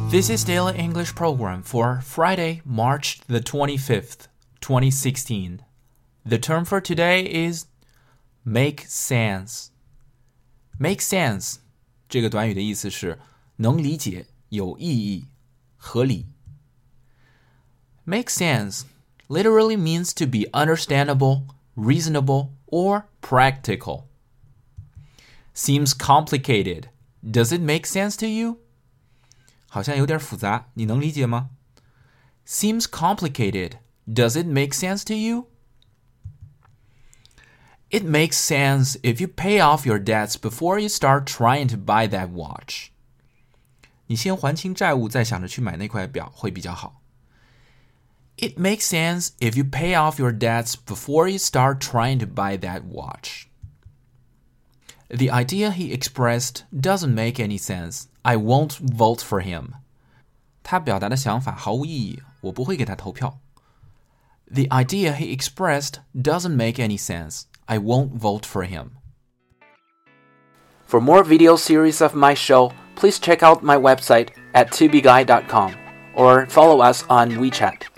This is Daily English Program for Friday, March the 25th, 2016. The term for today is make sense. Make sense 这个短语的意思是能理解、有意义、合理。Make sense literally means to be understandable, reasonable, or practical. Seems complicated. Does it make sense to you?好像有点复杂，你能理解吗？ Seems complicated. Does it make sense to you? It makes sense if you pay off your debts before you start trying to buy that watch. 你先还清债务，再想着去买那块表会比较好。It makes sense if you pay off your debts before you start trying to buy that watch. The idea he expressed doesn't make any sense.I won't vote for him. 他表达的想法毫无意义，我不会给他投票。The idea he expressed doesn't make any sense. I won't vote for him. For more video series of my show, please check out my website at tubeguy.com or follow us on WeChat.